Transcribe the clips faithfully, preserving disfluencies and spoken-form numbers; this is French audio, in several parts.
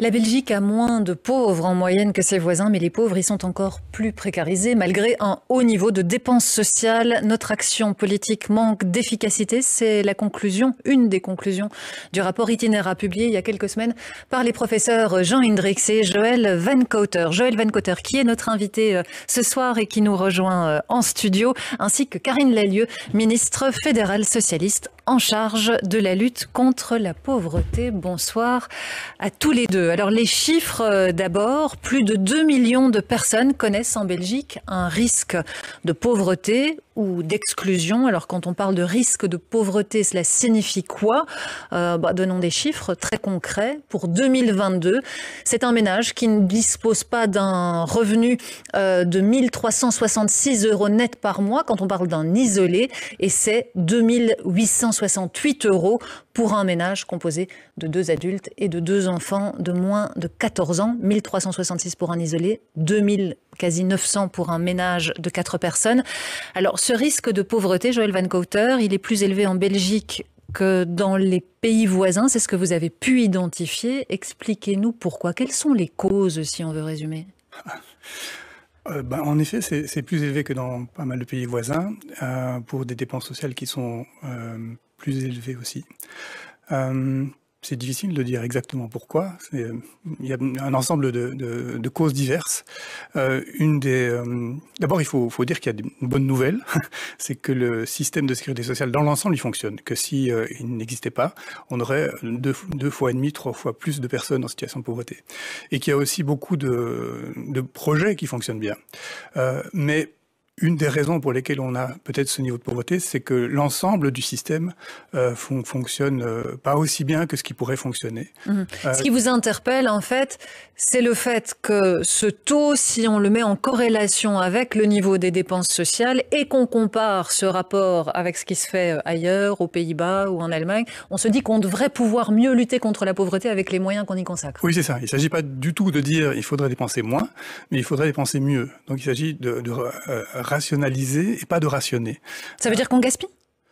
La Belgique a moins de pauvres en moyenne que ses voisins, mais les pauvres y sont encore plus précarisés malgré un haut niveau de dépenses sociales. Notre action politique manque d'efficacité. C'est la conclusion, une des conclusions du rapport Itinéra publié il y a quelques semaines par les professeurs Jean Hendricks et Joël Van Cauter. Joël Van Cauter, qui est notre invité ce soir et qui nous rejoint en studio, ainsi que Karine Lallieu, ministre fédérale socialiste en charge de la lutte contre la pauvreté. Bonsoir à tous les deux. Alors les chiffres d'abord, plus de deux millions de personnes connaissent en Belgique un risque de pauvreté ou d'exclusion. Alors quand on parle de risque de pauvreté, cela signifie quoi ? euh, bah, Donnons des chiffres très concrets. Pour deux mille vingt-deux, c'est un ménage qui ne dispose pas d'un revenu euh, de mille trois cent soixante-six euros net par mois quand on parle d'un isolé, et c'est deux mille huit cent soixante-huit euros pour un ménage composé de deux adultes et de deux enfants de moins de quatorze ans. mille trois cent soixante-six pour un isolé, deux mille, quasi neuf cents pour un ménage de quatre personnes. Alors, ce risque de pauvreté, Joël Van Cauter, il est plus élevé en Belgique que dans les pays voisins. C'est ce que vous avez pu identifier. Expliquez-nous pourquoi. Quelles sont les causes, si on veut résumer ? Euh, ben, en effet, c'est, c'est plus élevé que dans pas mal de pays voisins, euh, pour des dépenses sociales qui sont euh, plus élevées aussi. Euh, c'est difficile de dire exactement pourquoi. C'est, il y a un ensemble de, de, de causes diverses. Euh, une des, euh, d'abord, il faut, faut dire qu'il y a une bonne nouvelle, c'est que le système de sécurité sociale dans l'ensemble, il fonctionne. Que si euh, il n'existait pas, on aurait deux, deux fois et demi, trois fois plus de personnes en situation de pauvreté. Et qu'il y a aussi beaucoup de, de projets qui fonctionnent bien. Euh, mais une des raisons pour lesquelles on a peut-être ce niveau de pauvreté, c'est que l'ensemble du système euh, fon- fonctionne euh, pas aussi bien que ce qui pourrait fonctionner. Mmh. Euh, ce qui vous interpelle, en fait, c'est le fait que ce taux, si on le met en corrélation avec le niveau des dépenses sociales et qu'on compare ce rapport avec ce qui se fait ailleurs, aux Pays-Bas ou en Allemagne, on se dit qu'on devrait pouvoir mieux lutter contre la pauvreté avec les moyens qu'on y consacre. Oui, c'est ça. Il ne s'agit pas du tout de dire il faudrait dépenser moins, mais il faudrait dépenser mieux. Donc il s'agit de, de euh, rationaliser et pas de rationner. Ça veut dire qu'on gaspille ?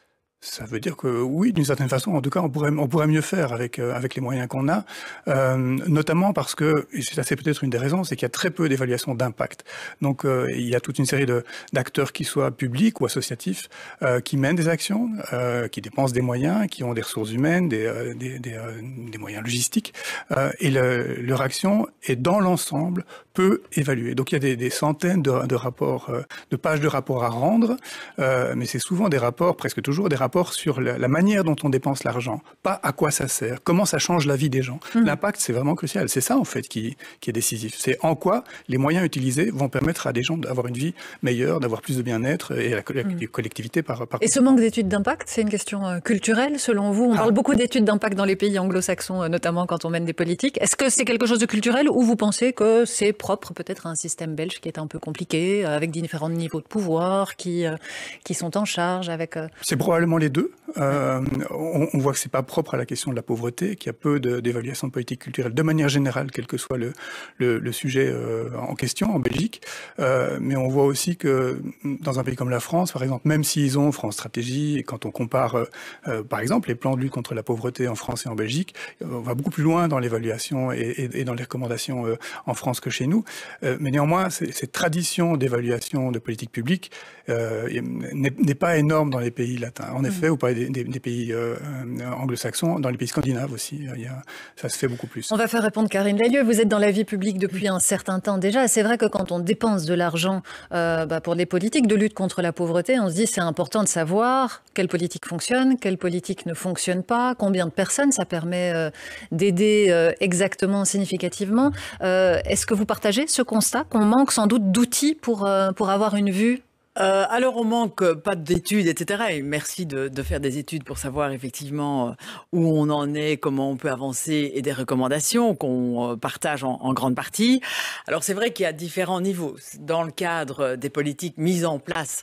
Ça veut dire que oui, d'une certaine façon, en tout cas, on pourrait, on pourrait mieux faire avec euh, avec les moyens qu'on a, euh, notamment parce que, et ça c'est peut-être une des raisons, c'est qu'il y a très peu d'évaluation d'impact. Donc euh, il y a toute une série de d'acteurs qui soient publics ou associatifs, euh, qui mènent des actions, euh, qui dépensent des moyens, qui ont des ressources humaines, des euh, des des, euh, des moyens logistiques, euh, et le, leur action est dans l'ensemble peu évaluée. Donc il y a des, des centaines de, de rapports, euh, de pages de rapports à rendre, euh, mais c'est souvent des rapports, presque toujours des rapports sur la, la manière dont on dépense l'argent, pas à quoi ça sert, comment ça change la vie des gens. Mmh. L'impact, c'est vraiment crucial. C'est ça, en fait, qui, qui est décisif. C'est en quoi les moyens utilisés vont permettre à des gens d'avoir une vie meilleure, d'avoir plus de bien-être et la, la mmh. collectivité par, par... Et ce manque d'études d'impact, c'est une question euh, culturelle, selon vous ? On ah. parle beaucoup d'études d'impact dans les pays anglo-saxons, euh, notamment quand on mène des politiques. Est-ce que c'est quelque chose de culturel ou vous pensez que c'est propre peut-être à un système belge qui est un peu compliqué, euh, avec différents niveaux de pouvoir, qui, euh, qui sont en charge avec... Euh... C'est probablement les deux. Euh, on, on voit que c'est pas propre à la question de la pauvreté, qu'il y a peu de, d'évaluation de politique culturelle de manière générale, quel que soit le, le, le sujet euh, en question en Belgique. Euh, mais on voit aussi que dans un pays comme la France, par exemple, même s'ils ont France Stratégie, et quand on compare, euh, par exemple, les plans de lutte contre la pauvreté en France et en Belgique, on va beaucoup plus loin dans l'évaluation et, et, et dans les recommandations euh, en France que chez nous. Euh, mais néanmoins, c'est, cette tradition d'évaluation de politique publique euh, n'est, n'est pas énorme dans les pays latins. En effet, vous parlez des, des, des pays euh, anglo-saxons, dans les pays scandinaves aussi, il y a, ça se fait beaucoup plus. On va faire répondre Karine Lallieu. Vous êtes dans la vie publique depuis un certain temps déjà. C'est vrai que quand on dépense de l'argent euh, bah, pour les politiques de lutte contre la pauvreté, on se dit c'est important de savoir quelle politique fonctionne, quelle politique ne fonctionne pas, combien de personnes ça permet euh, d'aider euh, exactement, significativement. Euh, est-ce que vous partagez ce constat qu'on manque sans doute d'outils pour, euh, pour avoir une vue ? Euh, alors on manque pas d'études, et cetera. Et merci de, de faire des études pour savoir effectivement où on en est, comment on peut avancer et des recommandations qu'on partage en, en grande partie. Alors c'est vrai qu'il y a différents niveaux. Dans le cadre des politiques mises en place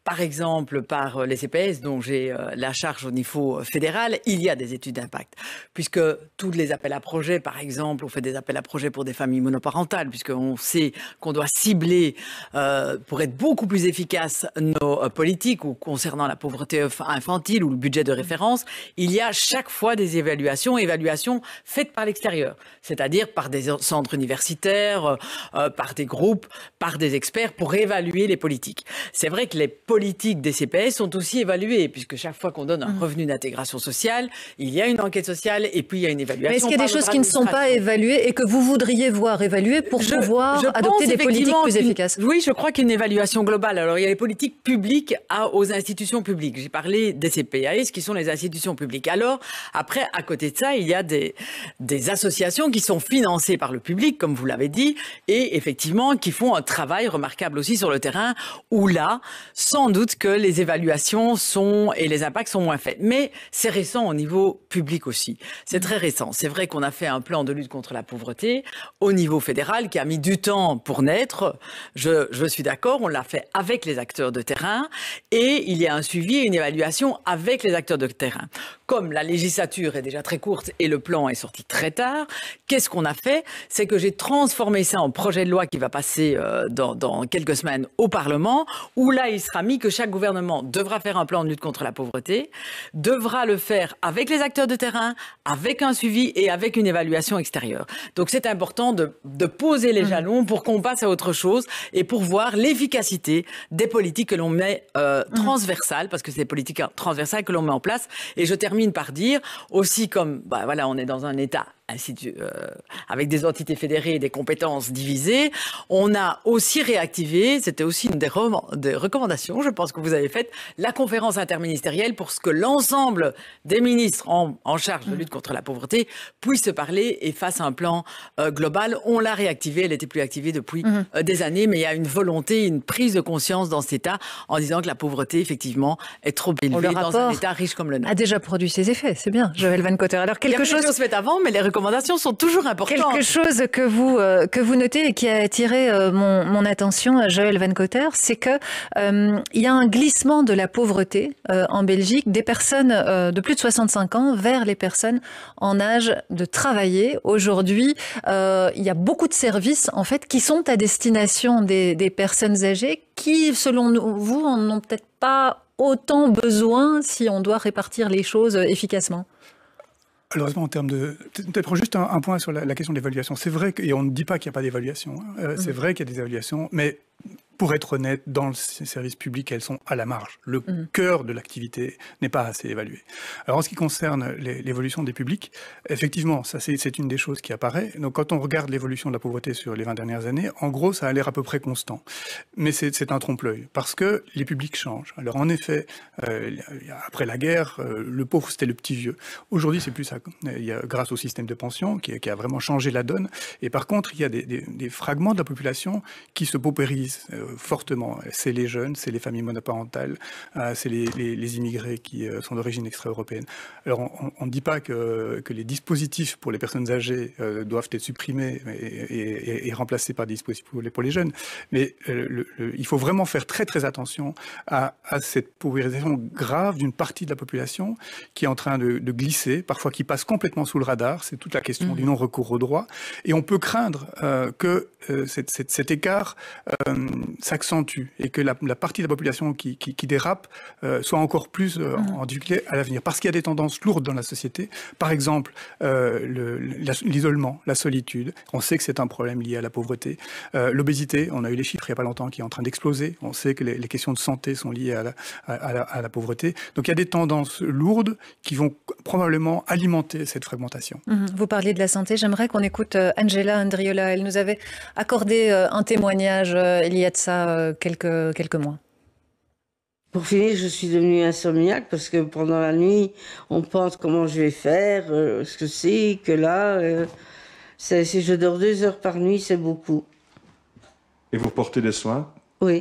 par exemple par les C P S, dont j'ai la charge au niveau fédéral, il y a des études d'impact. Puisque tous les appels à projets, par exemple, on fait des appels à projets pour des familles monoparentales, puisqu'on sait qu'on doit cibler, euh, pour être beaucoup plus efficace, nos euh, politiques, ou concernant la pauvreté infantile ou le budget de référence, il y a chaque fois des évaluations, évaluations faites par l'extérieur, c'est-à-dire par des centres universitaires, euh, par des groupes, par des experts, pour évaluer les politiques. C'est vrai que les politiques des C P S sont aussi évaluées, puisque chaque fois qu'on donne un mmh. revenu d'intégration sociale, il y a une enquête sociale et puis il y a une évaluation. Mais est-ce qu'il y a des choses qui ne sont pas évaluées et que vous voudriez voir évaluées pour je, pouvoir je adopter des politiques plus efficaces? Oui, je crois qu'une évaluation globale. Alors, il y a les politiques publiques à, aux institutions publiques. J'ai parlé des C P A S, qui sont les institutions publiques. Alors, après, à côté de ça, il y a des, des associations qui sont financées par le public, comme vous l'avez dit, et effectivement, qui font un travail remarquable aussi sur le terrain, où là, sans doute que les évaluations sont, et les impacts sont moins faits. Mais c'est récent au niveau public aussi. C'est très récent. C'est vrai qu'on a fait un plan de lutte contre la pauvreté au niveau fédéral qui a mis du temps pour naître. Je, je suis d'accord, on l'a fait avec les acteurs de terrain et il y a un suivi et une évaluation avec les acteurs de terrain. Comme la législature est déjà très courte et le plan est sorti très tard, qu'est-ce qu'on a fait? C'est que j'ai transformé ça en projet de loi qui va passer euh, dans, dans quelques semaines au Parlement, où là, il sera mis que chaque gouvernement devra faire un plan de lutte contre la pauvreté, devra le faire avec les acteurs de terrain, avec un suivi et avec une évaluation extérieure. Donc c'est important de, de poser les jalons pour qu'on passe à autre chose et pour voir l'efficacité des politiques que l'on met euh, transversales, parce que c'est des politiques transversales que l'on met en place. Et je termine par dire aussi, comme bah, voilà, on est dans un État ainsi de, euh, avec des entités fédérées et des compétences divisées, on a aussi réactivé, c'était aussi une des, re- des recommandations, je pense que vous avez faites, la conférence interministérielle pour ce que l'ensemble des ministres en, en charge de lutte contre la pauvreté puissent se parler et fassent un plan euh, global. On l'a réactivée, elle n'était plus activée depuis mmh. euh, des années, mais il y a une volonté, une prise de conscience dans cet État en disant que la pauvreté, effectivement, est trop élevée dans un État riche comme le nôtre. A déjà produit ses effets, c'est bien, Joëlle Van Cotter. Alors quelque il y a chose chose fait avant, mais les recommandations sont toujours importantes. Quelque chose que vous euh, que vous notez et qui a attiré euh, mon, mon attention, Joëlle Van Cotter, c'est que euh, il y a un glissement de la pauvreté euh, en Belgique des personnes euh, de plus de soixante-cinq ans vers les personnes en âge de travailler. Aujourd'hui, euh, il y a beaucoup de services en fait qui sont à destination des, des personnes âgées qui, selon vous, en ont peut-être pas autant besoin si on doit répartir les choses efficacement. Alors, en termes de... Peut-être juste un, un point sur la, la question de l'évaluation. C'est vrai que, et on ne dit pas qu'il n'y a pas d'évaluation, hein. euh, mmh. c'est vrai qu'il y a des évaluations, mais pour être honnête, dans le service public, elles sont à la marge. Le mmh. cœur de l'activité n'est pas assez évalué. Alors, en ce qui concerne les, l'évolution des publics, effectivement, ça c'est, c'est une des choses qui apparaît. Donc, quand on regarde l'évolution de la pauvreté sur les vingt dernières années, en gros, ça a l'air à peu près constant. Mais c'est, c'est un trompe-l'œil, parce que les publics changent. Alors, en effet, euh, après la guerre, euh, le pauvre, c'était le petit vieux. Aujourd'hui, c'est plus ça. Il y a, grâce au système de pension, qui, qui a vraiment changé la donne. Et par contre, il y a des, des, des fragments de la population qui se paupérisent euh, fortement. C'est les jeunes, c'est les familles monoparentales, euh, c'est les, les, les immigrés qui euh, sont d'origine extra-européenne. Alors, on ne dit pas que, que les dispositifs pour les personnes âgées euh, doivent être supprimés et, et, et remplacés par des dispositifs pour les, pour les jeunes, mais euh, le, le, il faut vraiment faire très très attention à, à cette paupérisation grave d'une partie de la population qui est en train de, de glisser, parfois qui passe complètement sous le radar. C'est toute la question mmh. du non-recours au droit. Et on peut craindre euh, que euh, cette, cette, cet écart euh, s'accentue et que la, la partie de la population qui, qui, qui dérape euh, soit encore plus euh, mmh. en difficulté à l'avenir. Parce qu'il y a des tendances lourdes dans la société. Par exemple, euh, le, la, l'isolement, la solitude. On sait que c'est un problème lié à la pauvreté. Euh, l'obésité, on a eu les chiffres il n'y a pas longtemps qui est en train d'exploser. On sait que les, les questions de santé sont liées à la, à, à, la, à la pauvreté. Donc il y a des tendances lourdes qui vont probablement alimenter cette fragmentation. Mmh. Vous parliez de la santé. J'aimerais qu'on écoute Angela Andriola. Elle nous avait accordé un témoignage il y a de ça quelques, quelques mois. Pour finir, je suis devenue insomniaque parce que pendant la nuit, on pense comment je vais faire, euh, ce que c'est, que là, euh, c'est, si je dors deux heures par nuit, c'est beaucoup. Et vous portez des soins? Oui.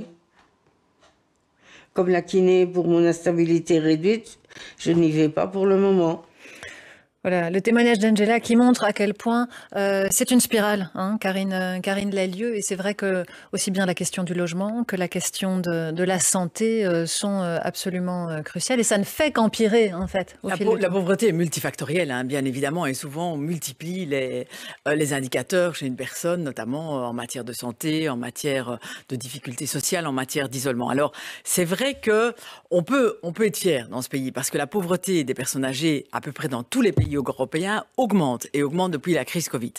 Comme la kiné pour mon instabilité réduite, je n'y vais pas pour le moment. Voilà, le témoignage d'Angela qui montre à quel point euh, c'est une spirale, hein, Karine, euh, Karine Lallieu, et c'est vrai que aussi bien la question du logement que la question de, de la santé euh, sont euh, absolument euh, cruciales, et ça ne fait qu'empirer en fait. Au La, fil pau- du la temps. pauvreté est multifactorielle, hein, bien évidemment, et souvent on multiplie les, euh, les indicateurs chez une personne, notamment en matière de santé, en matière de difficultés sociales, en matière d'isolement. Alors, c'est vrai que on peut, on peut être fier dans ce pays, parce que la pauvreté des personnes âgées, à peu près dans tous les pays européens, augmente, et augmente depuis la crise Covid.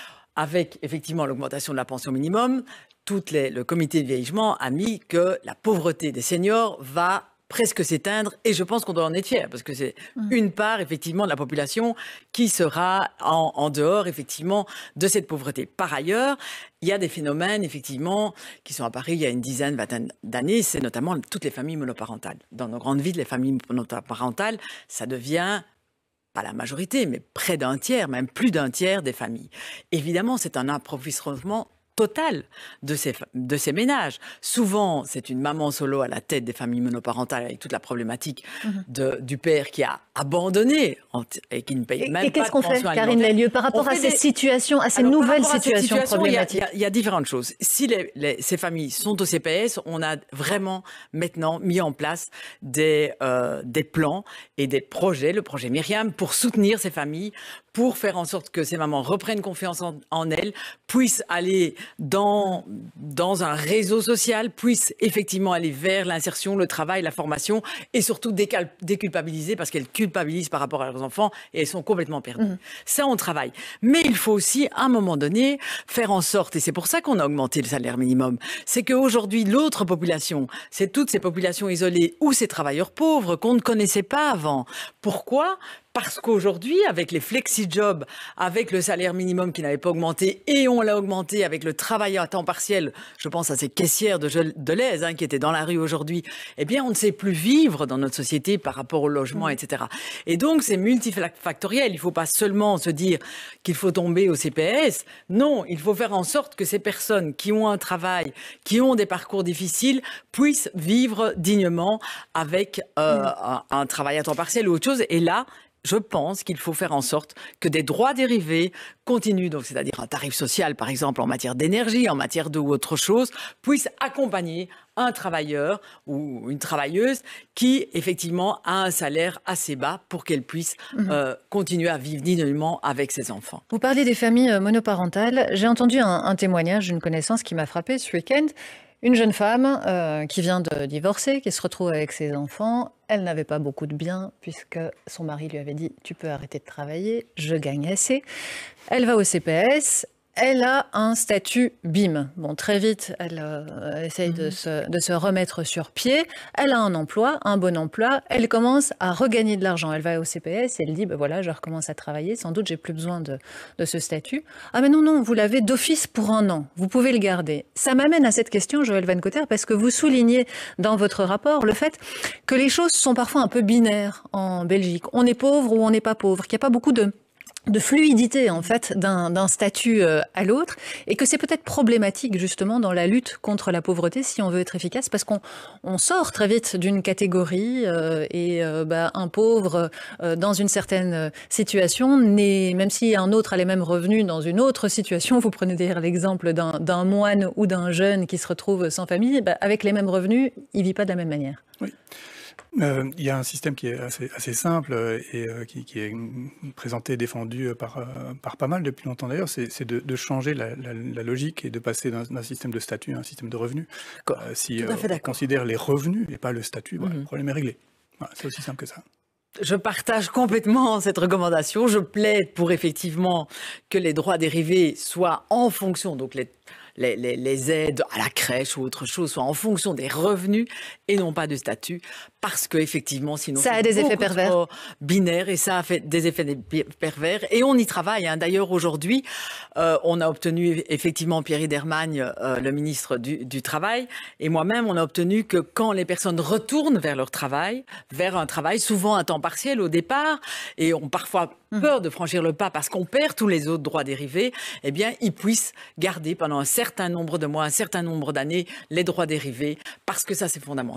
Avec effectivement l'augmentation de la pension minimum, toutes les, le comité de vieillissement a mis que la pauvreté des seniors va presque s'éteindre, et je pense qu'on doit en être fier, parce que c'est une part effectivement de la population qui sera en, en dehors effectivement de cette pauvreté. Par ailleurs, il y a des phénomènes effectivement qui sont apparus il y a une dizaine, vingtaine d'années, c'est notamment toutes les familles monoparentales. Dans nos grandes villes, les familles monoparentales, ça devient pas la majorité, mais près d'un tiers, même plus d'un tiers des familles. Évidemment, c'est un appauvrissement total de ces, de ces ménages. Souvent, c'est une maman solo à la tête des familles monoparentales avec toute la problématique de, du père qui a abandonné et qui ne paye Et, même et pas qu'est-ce de qu'on fait, pension Karine alimentaire. Lallieu, par rapport On à fait ces des- situations, à ces Alors, par nouvelles rapport à cette situations situation, il y a- problématiques? Il y, a, il y a différentes choses. Si les, les- ces familles sont au C P S, on a vraiment maintenant mis en place des, euh, des plans et des projets, le projet Myriam, pour soutenir ces familles, pour faire en sorte que ces mamans reprennent confiance en, en elles, puissent aller dans, dans un réseau social, puissent effectivement aller vers l'insertion, le travail, la formation, et surtout décal- déculpabiliser, parce qu'elles culpabilisent par rapport à leurs enfants et elles sont complètement perdues. Mmh. Ça, on travaille. Mais il faut aussi, à un moment donné, faire en sorte, et c'est pour ça qu'on a augmenté le salaire minimum, c'est qu'aujourd'hui, l'autre population, c'est toutes ces populations isolées ou ces travailleurs pauvres qu'on ne connaissait pas avant. Pourquoi ? Parce qu'aujourd'hui, avec les flexi-jobs, avec le salaire minimum qui n'avait pas augmenté, et on l'a augmenté avec le travail à temps partiel, je pense à ces caissières de Deleuze hein, qui étaient dans la rue aujourd'hui, eh bien, on ne sait plus vivre dans notre société par rapport au logement, mmh. et cetera. Et donc, c'est multifactoriel. Il ne faut pas seulement se dire qu'il faut tomber au C P S. Non, il faut faire en sorte que ces personnes qui ont un travail, qui ont des parcours difficiles, puissent vivre dignement avec euh, mmh. un, un travail à temps partiel ou autre chose. Et là, je pense qu'il faut faire en sorte que des droits dérivés continuent, donc c'est-à-dire un tarif social, par exemple, en matière d'énergie, en matière d'eau ou autre chose, puissent accompagner un travailleur ou une travailleuse qui, effectivement, a un salaire assez bas pour qu'elle puisse mmh. euh, continuer à vivre dignement avec ses enfants. Vous parlez des familles monoparentales. J'ai entendu un, un témoignage d'une connaissance qui m'a frappée ce week-end. Une jeune femme euh, qui vient de divorcer, qui se retrouve avec ses enfants. Elle n'avait pas beaucoup de biens puisque son mari lui avait dit « tu peux arrêter de travailler, je gagne assez ». Elle va au C P S. Elle a un statut B I M. Bon, très vite, elle euh, essaye mmh. de, se, de se remettre sur pied. Elle a un emploi, un bon emploi. Elle commence à regagner de l'argent. Elle va au C P S et elle dit, ben voilà, je recommence à travailler. Sans doute, j'ai plus besoin de, de ce statut. Ah mais non, non, vous l'avez d'office pour un an. Vous pouvez le garder. Ça m'amène à cette question, Joël Van Cotter, parce que vous soulignez dans votre rapport le fait que les choses sont parfois un peu binaires en Belgique. On est pauvre ou on n'est pas pauvre, qu'il n'y a pas beaucoup de... de fluidité en fait d'un, d'un statut euh, à l'autre, et que c'est peut-être problématique justement dans la lutte contre la pauvreté si on veut être efficace, parce qu'on on sort très vite d'une catégorie euh, et euh, bah, un pauvre euh, dans une certaine situation, n'est, même si un autre a les mêmes revenus dans une autre situation, vous prenez d'ailleurs l'exemple d'un, d'un moine ou d'un jeune qui se retrouve sans famille, bah, avec les mêmes revenus, il ne vit pas de la même manière. Oui. Euh, il y a un système qui est assez, assez simple et euh, qui, qui est présenté, défendu par, euh, par pas mal depuis longtemps d'ailleurs, c'est, c'est de, de changer la, la, la logique et de passer d'un, d'un système de statut à un système de revenus. Euh, si euh, on considère les revenus et pas le statut, voilà, mm-hmm. le problème est réglé. Voilà, c'est aussi simple que ça. Je partage complètement cette recommandation. Je plaide pour effectivement que les droits dérivés soient en fonction, donc les Les, les, les aides à la crèche ou autre chose soient en fonction des revenus et non pas du statut, parce que effectivement sinon ça a des effets pervers binaire et ça a fait des effets pervers et on y travaille hein. D'ailleurs aujourd'hui euh, on a obtenu effectivement Pierre Idermagne euh, le ministre du, du travail et moi-même on a obtenu que quand les personnes retournent vers leur travail, vers un travail souvent à temps partiel au départ et ont parfois peur de franchir le pas parce qu'on perd tous les autres droits dérivés, eh bien ils puissent garder pendant un certain nombre de mois, un certain nombre d'années les droits dérivés parce que ça c'est fondamental.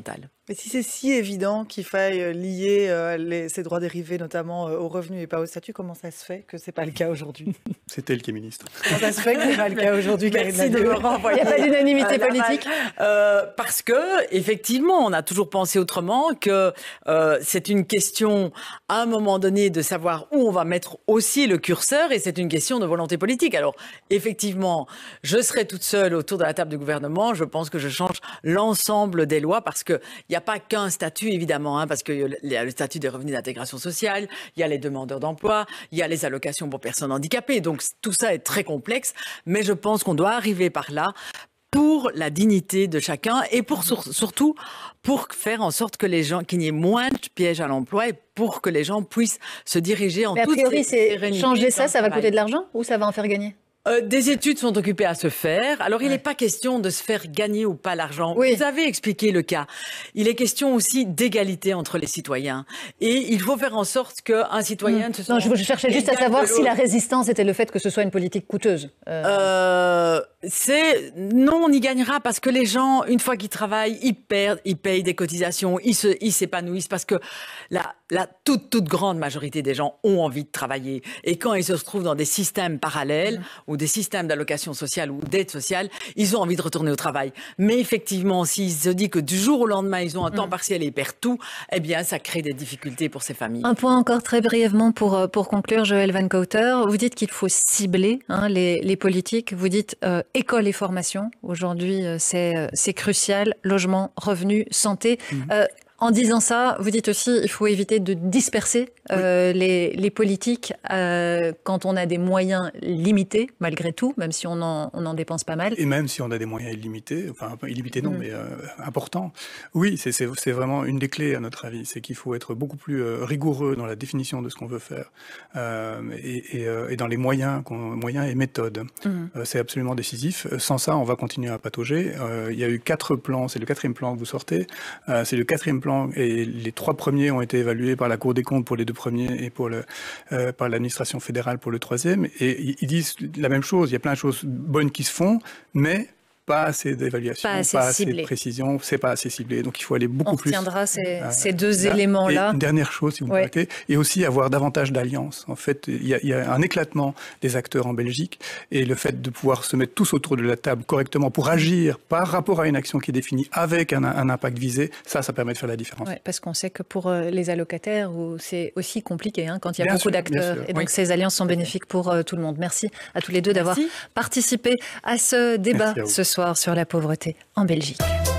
Mais si c'est si évident qu'il faille lier euh, les, ces droits dérivés notamment euh, aux revenus et pas au statut, comment ça se fait que ce n'est pas le cas aujourd'hui? C'est elle qui est ministre. Comment ça se fait que ce n'est pas le cas aujourd'hui? Merci de me renvoyer. Il n'y a pas d'unanimité politique euh, Parce que, effectivement, on a toujours pensé autrement, que euh, c'est une question, à un moment donné, de savoir où on va mettre aussi le curseur, et c'est une question de volonté politique. Alors, effectivement, je serai toute seule autour de la table du gouvernement, je pense que je change l'ensemble des lois, parce que il n'y a pas qu'un statut, évidemment, hein, parce qu'il y a le statut des revenus d'intégration sociale, il y a les demandeurs d'emploi, il y a les allocations pour personnes handicapées. Donc tout ça est très complexe, mais je pense qu'on doit arriver par là pour la dignité de chacun et pour sur, surtout pour faire en sorte que les gens, qu'il n'y ait moins de pièges à l'emploi et pour que les gens puissent se diriger en mais toute sérénité. Mais a priori, c'est changer ça, ça va travail. coûter de l'argent ou ça va en faire gagner? Euh, des études sont occupées à se faire. Alors, il n'est ouais. pas question de se faire gagner ou pas l'argent. Oui. Vous avez expliqué le cas. Il est question aussi d'égalité entre les citoyens. Et il faut faire en sorte qu'un citoyen... Mmh. Non, je, je cherchais juste à savoir si la résistance était le fait que ce soit une politique coûteuse. Euh... Euh, c'est... Non, on y gagnera parce que les gens, une fois qu'ils travaillent, ils perdent, ils payent des cotisations, ils, se, ils s'épanouissent parce que la, la toute, toute grande majorité des gens ont envie de travailler. Et quand ils se retrouvent dans des systèmes parallèles, mmh. ou des systèmes d'allocation sociale ou d'aide sociale, ils ont envie de retourner au travail. Mais effectivement, s'ils se disent que du jour au lendemain, ils ont un temps partiel et ils perdent tout, eh bien, ça crée des difficultés pour ces familles. Un point encore très brièvement pour, pour conclure, Joël Van Cauter. Vous dites qu'il faut cibler hein, les, les politiques. Vous dites euh, école et formation. Aujourd'hui, euh, c'est, c'est crucial. Logement, revenus, santé. Mmh. Euh, En disant ça, vous dites aussi qu'il faut éviter de disperser euh, oui. les, les politiques euh, quand on a des moyens limités, malgré tout, même si on en, on en dépense pas mal. Et même si on a des moyens illimités, enfin illimités non, mmh. mais euh, importants. Oui, c'est, c'est, c'est vraiment une des clés à notre avis. C'est qu'il faut être beaucoup plus euh, rigoureux dans la définition de ce qu'on veut faire euh, et, et, euh, et dans les moyens, moyens et méthodes. Mmh. Euh, c'est absolument décisif. Sans ça, on va continuer à patauger. Euh, il y a eu quatre plans, c'est le quatrième plan que vous sortez. Euh, c'est le quatrième plan et les trois premiers ont été évalués par la Cour des comptes pour les deux premiers et pour le, euh, par l'administration fédérale pour le troisième. Et ils disent la même chose, il y a plein de choses bonnes qui se font, mais pas assez d'évaluation, pas assez, pas assez de précision, c'est pas assez ciblé. Donc il faut aller beaucoup On plus... On retiendra ces, euh, ces deux là. éléments-là. Et une dernière chose, si vous me ouais. permettez, et aussi avoir davantage d'alliances. En fait, il y, a, il y a un éclatement des acteurs en Belgique, et le fait de pouvoir se mettre tous autour de la table correctement pour agir par rapport à une action qui est définie avec un, un impact visé, ça, ça permet de faire la différence. Ouais, parce qu'on sait que pour les allocataires, c'est aussi compliqué hein, quand il y a bien beaucoup sûr, d'acteurs. Et donc oui. ces alliances sont bénéfiques pour euh, tout le monde. Merci à tous les deux d'avoir participé à ce débat ce soir sur la pauvreté en Belgique.